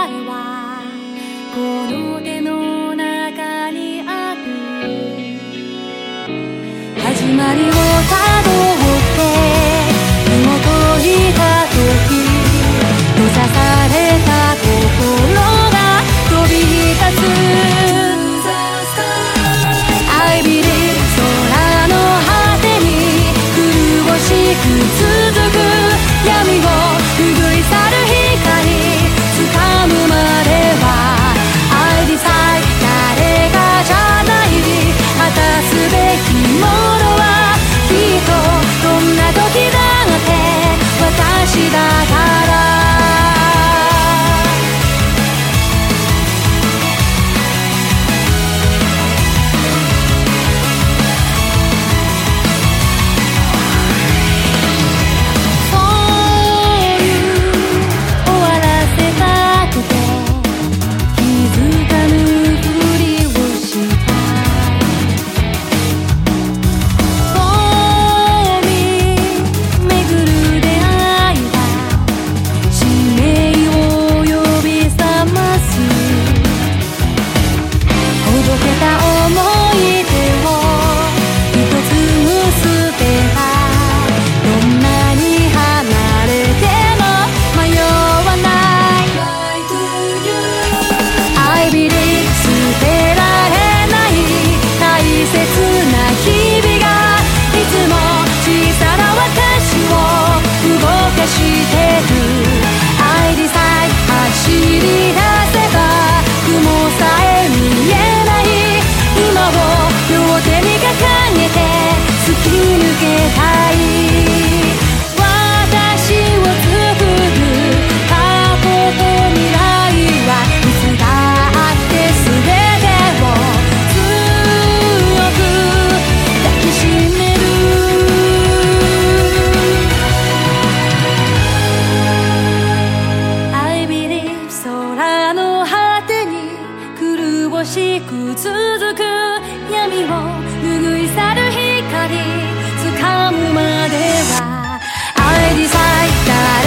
はこの手の中にある。始まりをたどって紐解いた時、閉ざされた心が飛び立つ。I believe 空の果てに苦しく続く闇を拭い去る光掴むまでは I decide 誰がじゃない、果たすべきものはきっとどんな時だって私だから。しく続く闇を拭い去る光掴むまでは I decide